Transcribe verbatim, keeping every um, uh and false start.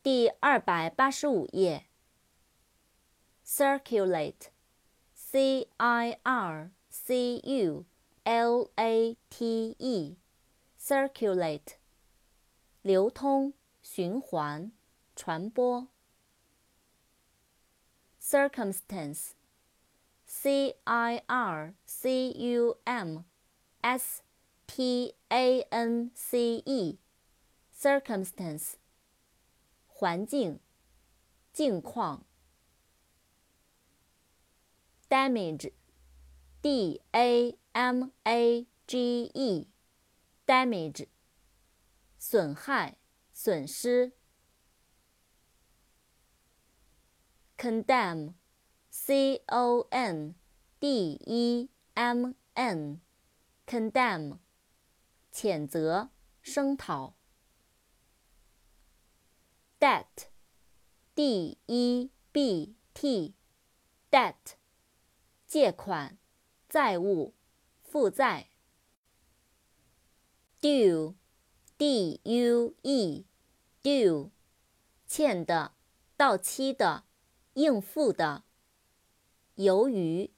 第二百八十五页。circulate, C I R C U L A T E, circulate, 流通、循环、传播。circumstance, C I R C U M S T A N C E, circumstance, 环境、境况。damage, D A M A G E, damage, 损害、损失。condemn, C O N D E M N, condemn, 谴责、声讨。debt, D E B T, debt, 借款、债务、负债。due, D U E, due, 欠的、到期的、应付的。由于